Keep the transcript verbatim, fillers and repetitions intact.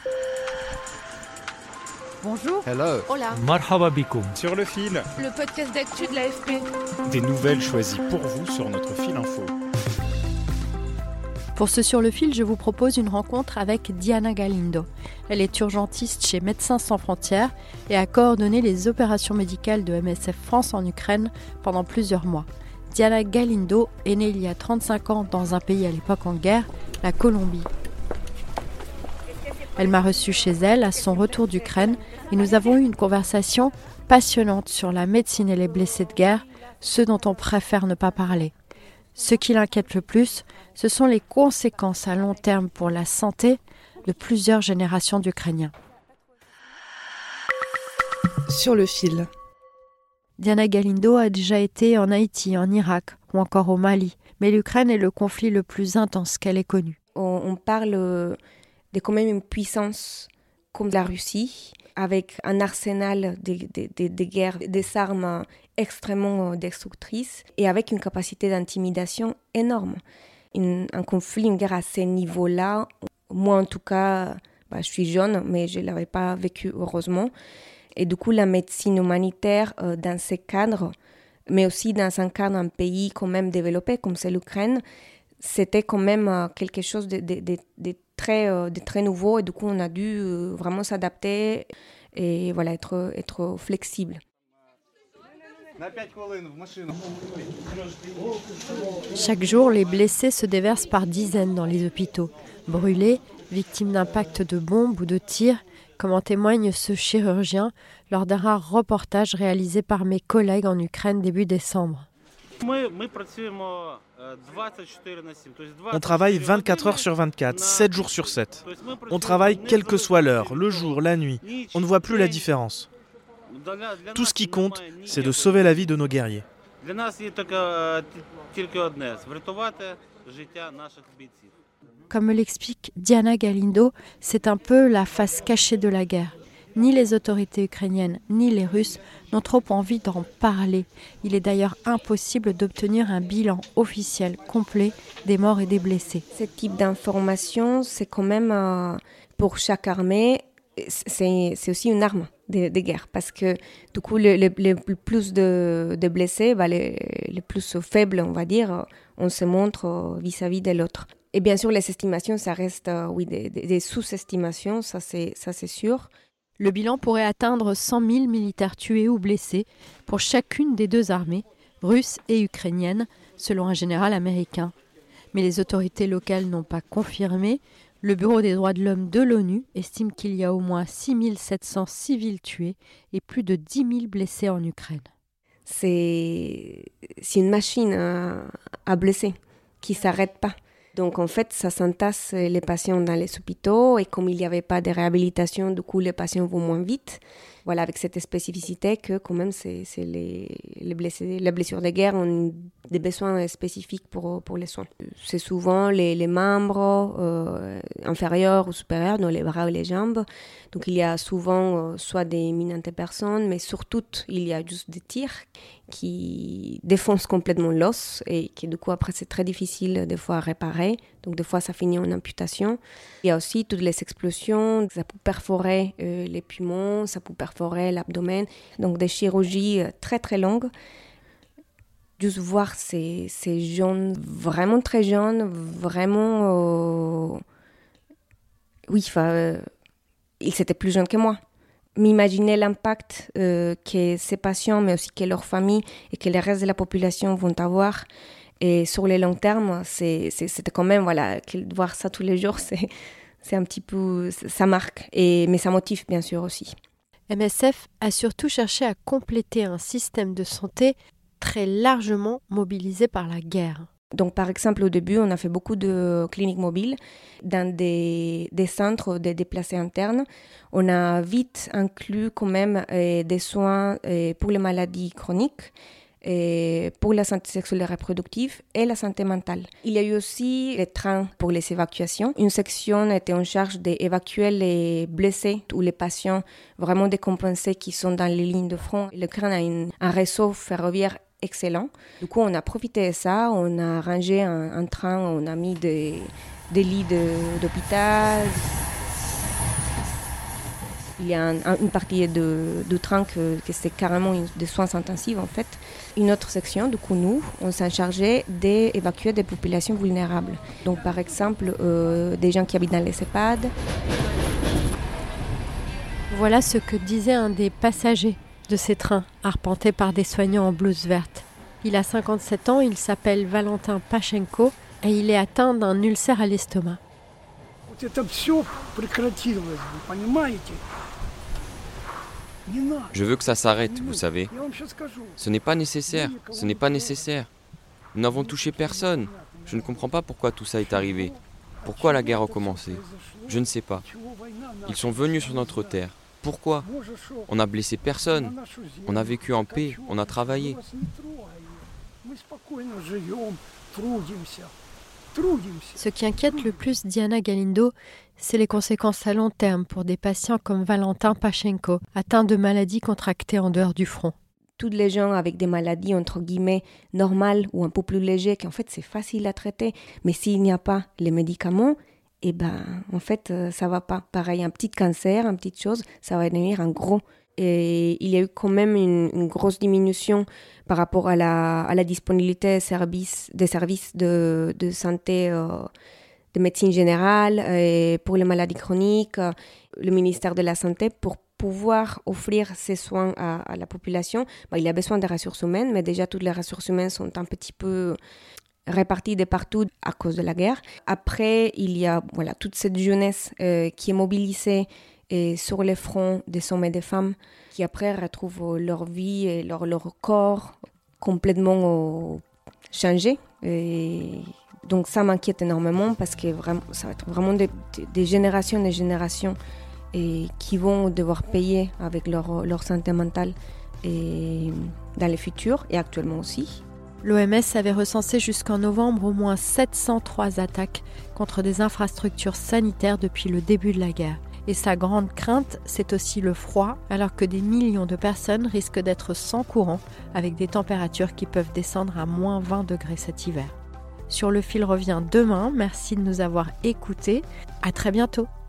Bonjour. Hello. Hola. Marhaba bikoum. Sur le fil. Le podcast d'actu de l'A F P. Des nouvelles choisies pour vous sur notre fil info. Pour ce Sur le fil, je vous propose une rencontre avec Diana Galindo. Elle est urgentiste chez Médecins sans frontières et a coordonné les opérations médicales de M S F France en Ukraine pendant plusieurs mois. Diana Galindo est née il y a trente-cinq ans dans un pays à l'époque en guerre, la Colombie. Elle m'a reçue chez elle à son retour d'Ukraine et nous avons eu une conversation passionnante sur la médecine et les blessés de guerre, ceux dont on préfère ne pas parler. Ce qui l'inquiète le plus, ce sont les conséquences à long terme pour la santé de plusieurs générations d'Ukrainiens. Sur le fil. Diana Galindo a déjà été en Haïti, en Irak ou encore au Mali, mais l'Ukraine est le conflit le plus intense qu'elle ait connu. On, on parle de quand même une puissance comme la Russie, avec un arsenal de, de, de, de guerre, des armes extrêmement destructrices et avec une capacité d'intimidation énorme. Une, un conflit, une guerre à ce niveau-là, moi en tout cas, bah, je suis jeune, mais je ne l'avais pas vécu heureusement. Et du coup, la médecine humanitaire euh, dans ces cadres, mais aussi dans un cadre d'un pays quand même développé comme c'est l'Ukraine, c'était quand même euh, quelque chose de, de, de, de, très, euh, de très nouveau. Et du coup, on a dû euh, vraiment s'adapter et voilà, être, être flexible. Chaque jour, les blessés se déversent par dizaines dans les hôpitaux. Brûlés, victimes d'impacts de bombes ou de tirs, comme en témoigne ce chirurgien lors d'un rare reportage réalisé par mes collègues en Ukraine début décembre. On travaille vingt-quatre heures sur vingt-quatre, sept jours sur sept. On travaille quelle que soit l'heure, le jour, la nuit. On ne voit plus la différence. Tout ce qui compte, c'est de sauver la vie de nos guerriers. Comme me l'explique Diana Galindo, c'est un peu la face cachée de la guerre. Ni les autorités ukrainiennes, ni les Russes n'ont trop envie d'en parler. Il est d'ailleurs impossible d'obtenir un bilan officiel complet des morts et des blessés. Ce type d'information, c'est quand même, euh, pour chaque armée, c'est, c'est aussi une arme de, de guerre. Parce que du coup, le, le, le plus de, de blessés, bah, les, les plus faibles, on va dire, on se montre vis-à-vis de l'autre. Et bien sûr, les estimations, ça reste euh, oui, des, des, des sous-estimations, ça c'est, ça c'est sûr. Le bilan pourrait atteindre cent mille militaires tués ou blessés pour chacune des deux armées, russe et ukrainienne, selon un général américain. Mais les autorités locales n'ont pas confirmé. Le Bureau des droits de l'homme de l'ONU estime qu'il y a au moins six mille sept cents civils tués et plus de dix mille blessés en Ukraine. C'est, c'est une machine à, à blesser qui ne s'arrête pas. Donc en fait, ça s'entasse les patients dans les hôpitaux et comme il n'y avait pas de réhabilitation, du coup les patients vont moins vite. Voilà, avec cette spécificité que quand même c'est, c'est les, les, blessés, les blessures de guerre ont des besoins spécifiques pour, pour les soins. C'est souvent les, les membres euh, inférieurs ou supérieurs, dans les bras ou les jambes. Donc il y a souvent euh, soit des mines antipersonnes, mais surtout il y a juste des tirs qui défoncent complètement l'os et qui du coup après c'est très difficile des fois à réparer. Donc des fois ça finit en amputation. Il y a aussi toutes les explosions, ça peut perforer euh, les poumons, ça peut perforer l'abdomen. Donc des chirurgies très très longues. Juste voir ces, ces jeunes, vraiment très jeunes, vraiment... Euh, oui, enfin, euh, ils étaient plus jeunes que moi. M'imaginer l'impact euh, que ces patients, mais aussi que leurs familles et que le reste de la population vont avoir. Et sur le long terme, c'est, c'est, c'était quand même, voilà, voir ça tous les jours, c'est, c'est un petit peu, ça marque. Et, mais ça motive bien sûr aussi. M S F a surtout cherché à compléter un système de santé très largement mobilisé par la guerre. Donc, par exemple, au début, on a fait beaucoup de cliniques mobiles dans des, des centres de déplacés internes. On a vite inclus quand même euh, des soins euh, pour les maladies chroniques, et pour la santé sexuelle et reproductive et la santé mentale. Il y a eu aussi les trains pour les évacuations. Une section était en charge d'évacuer les blessés ou les patients vraiment décompensés qui sont dans les lignes de front. L'Ukraine a une, un réseau ferroviaire excellent. Du coup, on a profité de ça, on a rangé un, un train, on a mis des, des lits de, d'hôpital. Il y a un, un, une partie de, de train que, que c'est carrément une, des soins intensifs en fait. Une autre section, du coup nous, on s'en chargeait d'évacuer des populations vulnérables. Donc par exemple, euh, des gens qui habitent dans les EHPAD. Voilà ce que disait un des passagers de ces trains, arpentés par des soignants en blouse verte. Il a cinquante-sept ans, il s'appelle Valentin Pachenko et il est atteint d'un ulcère à l'estomac. Je veux que ça s'arrête, vous savez. Ce n'est pas nécessaire, ce n'est pas nécessaire. Nous n'avons touché personne. Je ne comprends pas pourquoi tout ça est arrivé. Pourquoi la guerre a commencé ? Je ne sais pas. Ils sont venus sur notre terre. Pourquoi ? On n'a blessé personne. On a vécu en paix, on a travaillé. Ce qui inquiète le plus Diana Galindo, c'est les conséquences à long terme pour des patients comme Valentin Pachenko, atteints de maladies contractées en dehors du front. Tous les gens avec des maladies entre guillemets normales ou un peu plus légères, qu'en fait c'est facile à traiter, mais s'il n'y a pas les médicaments, eh ben en fait ça va pas. Pareil, un petit cancer, une petite chose, ça va devenir un gros. Et il y a eu quand même une, une grosse diminution par rapport à la, à la disponibilité des services, des services de, de santé, euh, de médecine générale et pour les maladies chroniques. Le ministère de la Santé, pour pouvoir offrir ces soins à, à la population, bah, il a besoin des ressources humaines, mais déjà toutes les ressources humaines sont un petit peu réparties de partout à cause de la guerre. Après, il y a voilà, toute cette jeunesse euh, qui est mobilisée et sur les fronts des hommes et des femmes qui après retrouvent leur vie et leur, leur corps complètement euh, changé. Et donc ça m'inquiète énormément parce que vraiment, ça va être vraiment des, des générations et des générations et qui vont devoir payer avec leur, leur santé mentale et dans le futur et actuellement aussi. L'O M S avait recensé jusqu'en novembre au moins sept cent trois attaques contre des infrastructures sanitaires depuis le début de la guerre. Et sa grande crainte, c'est aussi le froid, alors que des millions de personnes risquent d'être sans courant, avec des températures qui peuvent descendre à moins vingt degrés cet hiver. Sur le fil revient demain, merci de nous avoir écoutés, à très bientôt.